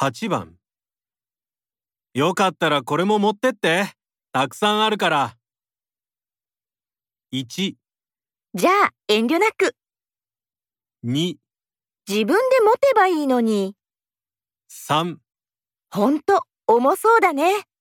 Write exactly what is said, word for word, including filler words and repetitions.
はちばん。よかったらこれも持ってって。たくさんあるから。いち、 じゃあ遠慮なく。 に、 自分で持てばいいのに。 さん。 ほんと、重そうだね。